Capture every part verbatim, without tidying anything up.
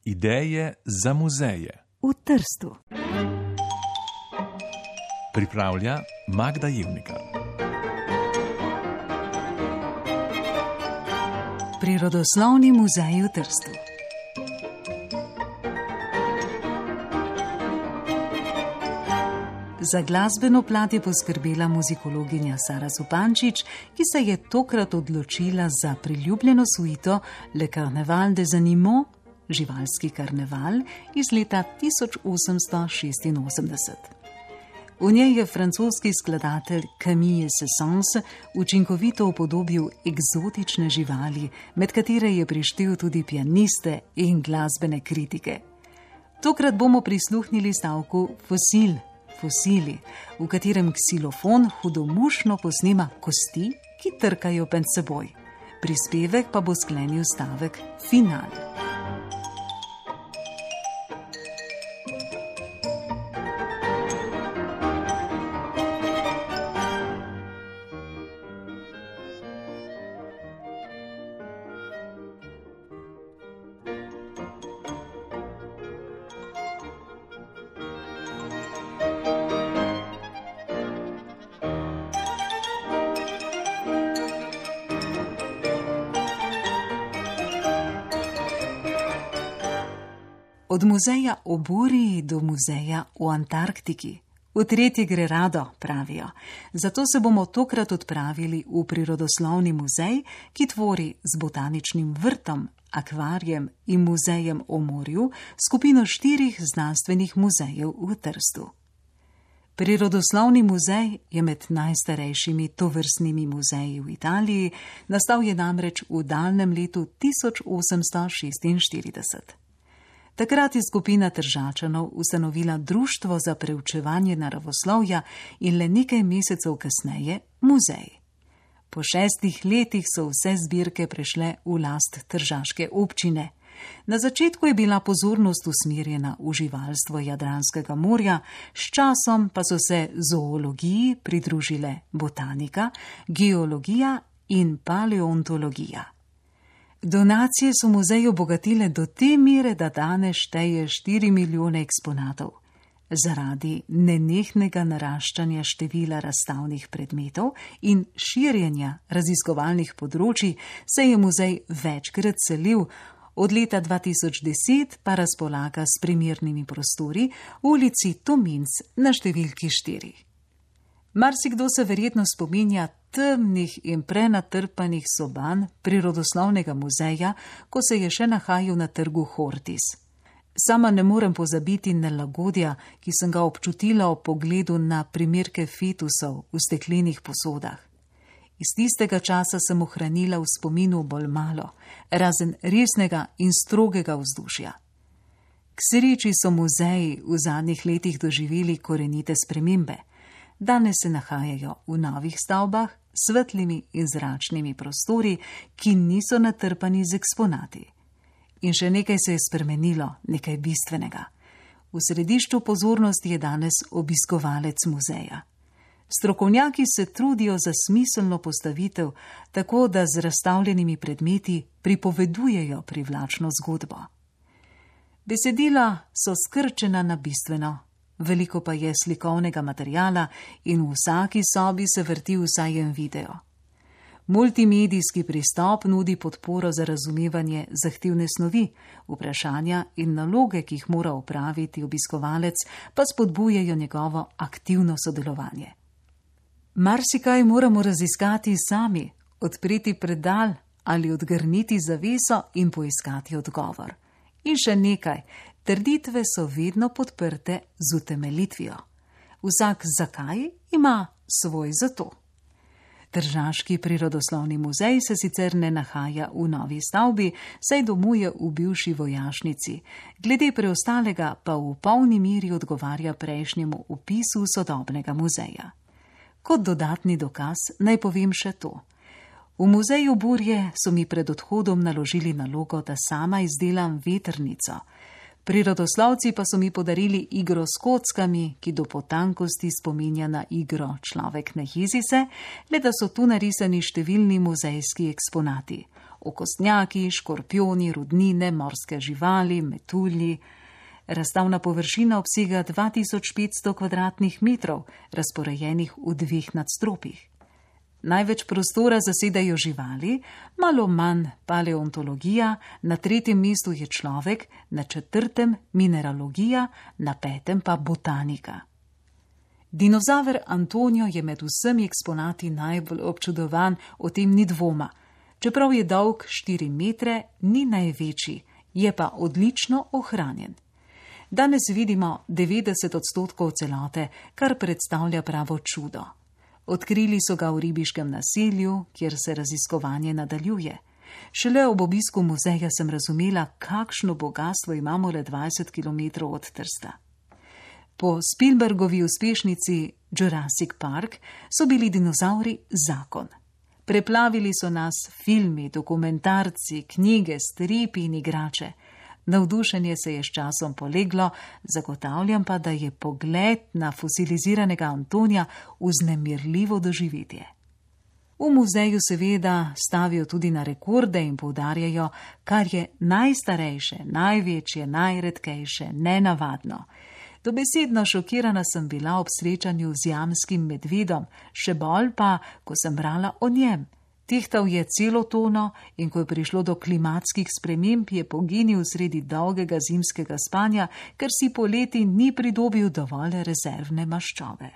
Ideje za muzeje v Trstu. Pripravlja Magda Jevnikar. Prirodoslovni muzej v Trstu. Za glasbeno plat je poskrbela muzikologinja Sara Zupančič, ki se je tokrat odločila za priljubljeno suito Le Carnaval des Animaux, živalski karneval iz leta tisoč osemsto šestinosemdeset. V njej je francoski skladatelj Camille Saint-Saëns učinkovito upodobil eksotične živali, med katere je prištel tudi pianiste in glasbene kritike. Tokrat bomo prisluhnili stavku Fosil, fosili, v katerem ksilofon hudomušno posnema kosti, ki trkajo med seboj. Prispevek pa bo sklenil stavek Final. Od muzeja o Buriji do muzeja v Antarktiki. V tretje gre rado, pravijo. Zato se bomo tokrat odpravili v prirodoslovni muzej, ki tvori z botaničnim vrtom, akvarijem in muzejem o morju skupino štirih znanstvenih muzejev v Trstu. Prirodoslovni muzej je med najstarejšimi tovrstnimi muzeji v Italiji, nastal je namreč v daljnem letu tisoč osemsto šestinštirideset. Takrat je skupina Tržačanov ustanovila Društvo za preučevanje naravoslovja in le nekaj mesecev kasneje muzej. Po šestih letih so vse zbirke prešle v last tržaške občine. Na začetku je bila pozornost usmerjena v živalstvo Jadranskega morja, s časom pa so se zoologiji pridružile botanika, geologija in paleontologija. Donacije so muzej obogatile do te mere, da danes šteje štiri milijone eksponatov. Zaradi nenehnega naraščanja števila razstavnih predmetov in širjenja raziskovalnih področij se je muzej večkrat selil, od leta dva tisoč deset pa razpolaga s primernimi prostori v ulici Tominc na številki štiri. Marsikdo se verjetno spominja temnih in prenatrpanih soban prirodoslovnega muzeja, ko se je še nahajal na trgu Hortis. Sama ne morem pozabiti nelagodja, ki sem ga občutila ob pogledu na primerke fetusov v steklenih posodah. Iz tistega časa sem ohranila v spominu bolj malo, razen resnega in strogega vzdušja. K sreči so muzeji v zadnjih letih doživeli korenite spremembe. Danes se nahajajo v novih stavbah, svetlimi in zračnimi prostori, ki niso natrpani z eksponati. In še nekaj se je spremenilo, nekaj bistvenega. V središču pozornosti je danes obiskovalec muzeja. Strokovnjaki se trudijo za smiselno postavitev, tako da z razstavljenimi predmeti pripovedujejo privlačno zgodbo. Besedila so skrčena na bistveno. Veliko pa je slikovnega materiala in v vsaki sobi se vrti vsaj en video. Multimedijski pristop nudi podporo za razumevanje zahtevne snovi, vprašanja in naloge, ki jih mora opraviti obiskovalec, pa spodbujajo njegovo aktivno sodelovanje. Marsikaj moramo raziskati sami, odpreti predal ali odgrniti zaveso in poiskati odgovor. In še nekaj, trditve so vedno podprte z utemeljitvijo. Vsak zakaj ima svoj zato. Tržaški prirodoslovni muzej se sicer ne nahaja v novi stavbi, saj domuje v bivši vojašnici, glede preostalega pa v polni meri odgovarja prejšnjemu opisu sodobnega muzeja. Kot dodatni dokaz naj povem še to. V muzeju Burje so mi pred odhodom naložili nalogo, da sama izdelam vetrnico. Prirodoslovci pa so mi podarili igro s kockami, ki do potankosti spominja na igro Človek ne jezi se, le da so tu narisani številni muzejski eksponati. okostnjaki, škorpioni, rudnine, morske živali, metulji. Razstavna površina obsega dva tisoč petsto kvadratnih metrov, razporejenih v dveh nadstropjih. Največ prostora zasedajo živali, malo manj paleontologija, na tretjem mestu je človek, na četrtem mineralogija, na petem pa botanika. Dinozaver Antonijo je med vsemi eksponati najbolj občudovan, o tem ni dvoma. Čeprav je dolg štiri metre, ni največji, je pa odlično ohranjen. Danes vidimo devetdeset odstotkov celote, kar predstavlja pravo čudo. Odkrili so ga v ribiškem naselju, kjer se raziskovanje nadaljuje. Šele ob obisku muzeja sem razumela, kakšno bogastvo imamo le dvajset kilometrov od Trsta. Po Spielbergovi uspešnici Jurassic Park so bili dinozavri zakon. Preplavili so nas filmi, dokumentarci, knjige, stripi in igrače. Navdušenje se je s časom poleglo, zagotavljam pa, da je pogled na fosiliziranega Antonija vznemirljivo doživetje. V muzeju seveda stavijo tudi na rekorde in poudarjajo, kar je najstarejše, največje, najredkejše, nenavadno. Dobesedno šokirana sem bila ob srečanju z jamskim medvedom, še bolj pa, ko sem brala o njem. Tehtal je celo tono in ko je prišlo do klimatskih sprememb, je poginil sredi dolgega zimskega spanja, ker si poleti ni pridobil dovolj rezervne maščobe.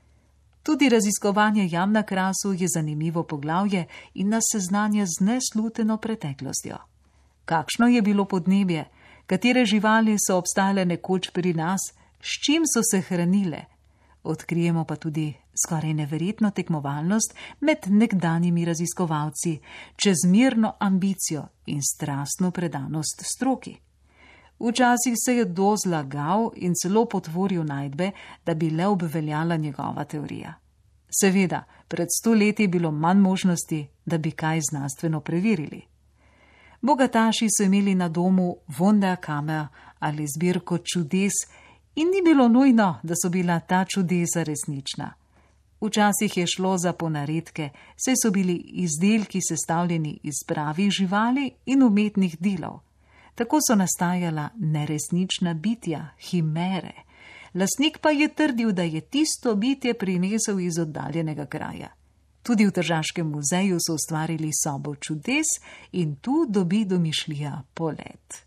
Tudi raziskovanje jam na Krasu je zanimivo poglavje in nas seznanja z nesluteno preteklostjo. Kakšno je bilo podnebje, katere živali so obstajale nekoč pri nas, s čim so se hranile? Odkrijemo pa tudi skoraj neverjetno tekmovalnost med nekdanjimi raziskovalci, čezmerno ambicijo in strastno predanost stroki. Včasih se je kdo zlagal in celo potvoril najdbe, da bi le obveljala njegova teorija. Seveda, pred sto leti je bilo manj možnosti, da bi kaj znanstveno preverili. Bogataši so imeli na domu Wunderkammer ali zbirko čudes, in ni bilo nujno, da so bila ta čudesa resnična. Včasih je šlo za ponaredke, saj so bili izdelki sestavljeni iz pravih živali in umetnih delov. Tako so nastajala neresnična bitja, himere. Lastnik pa je trdil, da je tisto bitje prinesel iz oddaljenega kraja. Tudi v Tržaškem muzeju so ustvarili sobo čudes in tu dobi domišljija polet.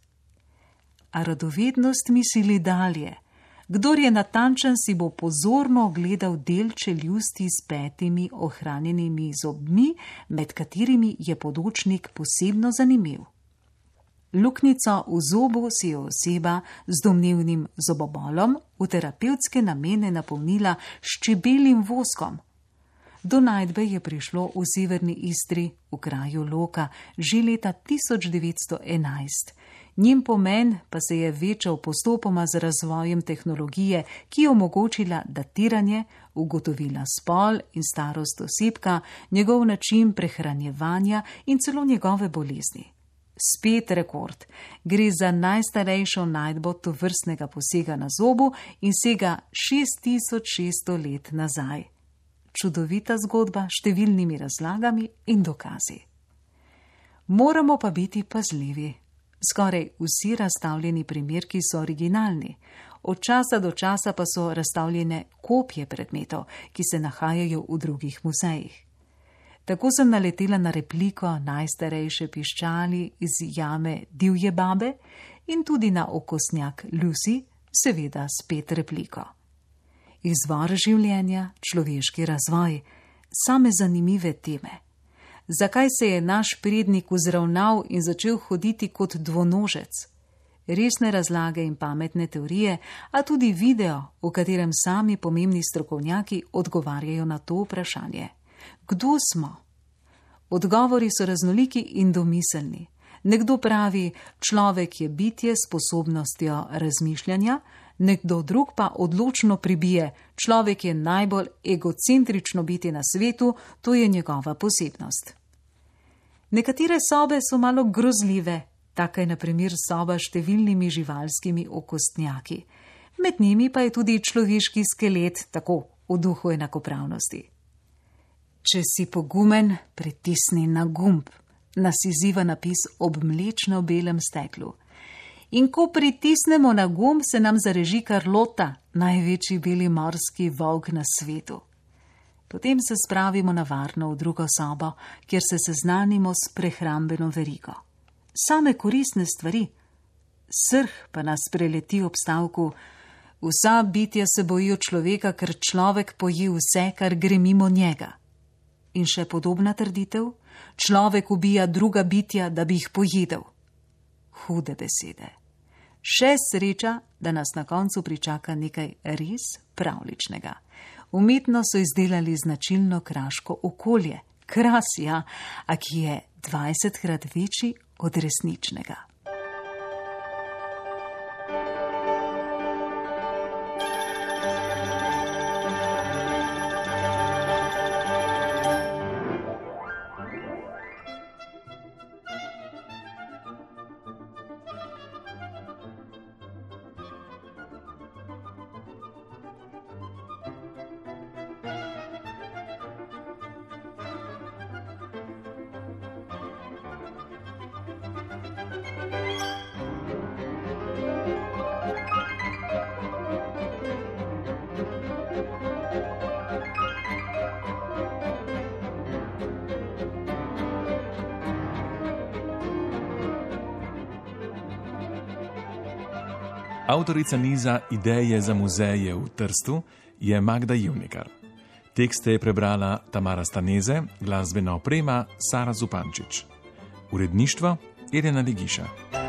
A radovednost misli dalje. Kdor je natančen, si bo pozorno ogledal del čeljusti s petimi ohranjenimi zobmi, med katerimi je podočnik posebno zanimiv. Luknjico v zobu si je oseba z domnevnim zobobolom v terapevtske namene napolnila s čebeljim voskom. Do najdbe je prišlo v severni Istri, v kraju Loka, že leta tisoč devetsto enajst. Njen pomen pa se je večal postopoma z razvojem tehnologije, ki je omogočila datiranje, ugotovila spol in starost osebka, njegov način prehranjevanja in celo njegove bolezni. Spet rekord. Gre za najstarejšo najdbo tovrstnega posega na zobu in sega šest tisoč šeststo let nazaj. Čudovita zgodba s številnimi razlagami in dokazi. Moramo pa biti pazljivi. Skoraj vsi razstavljeni primerki so originalni. Od časa do časa pa so razstavljene kopije predmetov, ki se nahajajo v drugih muzejih. Tako sem naletela na repliko najstarejše piščali iz jame Divje babe in tudi na okostnjak Lucy, seveda spet repliko. Izvor življenja, človeški razvoj, same zanimive teme. Zakaj se je naš prednik vzravnal in začel hoditi kot dvonožec? Resne razlage in pametne teorije, a tudi video, v katerem sami pomembni strokovnjaki odgovarjajo na to vprašanje. Kdo smo? Odgovori so raznoliki in domiselni. Nekdo pravi, človek je bitje s sposobnostjo razmišljanja, nekdo drug pa odločno pribije, človek je najbolj egocentrično bitje na svetu, to je njegova posebnost. Nekatere sobe so malo grozljive, taka je na primer soba s številnimi živalskimi okostnjaki. Med njimi pa je tudi človeški skelet, tako v duhu enakopravnosti. Če si pogumen, pritisni na gumb. nas izziva napis ob mlečno-belem steklu. In ko pritisnemo na gumb, se nam zareži Karlota, največji beli morski volk na svetu. Potem se spravimo na varno v drugo sobo, kjer se seznanimo s prehrambeno verigo. Same koristne stvari. Srh pa nas preleti ob stavku: vsa bitja se bojijo človeka, ker človek poje vse, kar gre mimo njega. In še podobna trditev: človek ubija druga bitja, da bi jih pojedel. Hude besede. Še sreča, da nas na koncu pričaka nekaj res pravličnega. Umetno so izdelali značilno kraško okolje, kras, ja, a ki je dvajsetkrat večji od resničnega. Avtorica niza Ideje za muzeje v Trstu je Magda Jivnikar. Tekste je prebrala Tamara Staneze, glasbena oprema Sara Zupančič. Uredništvo Irena Ligiša.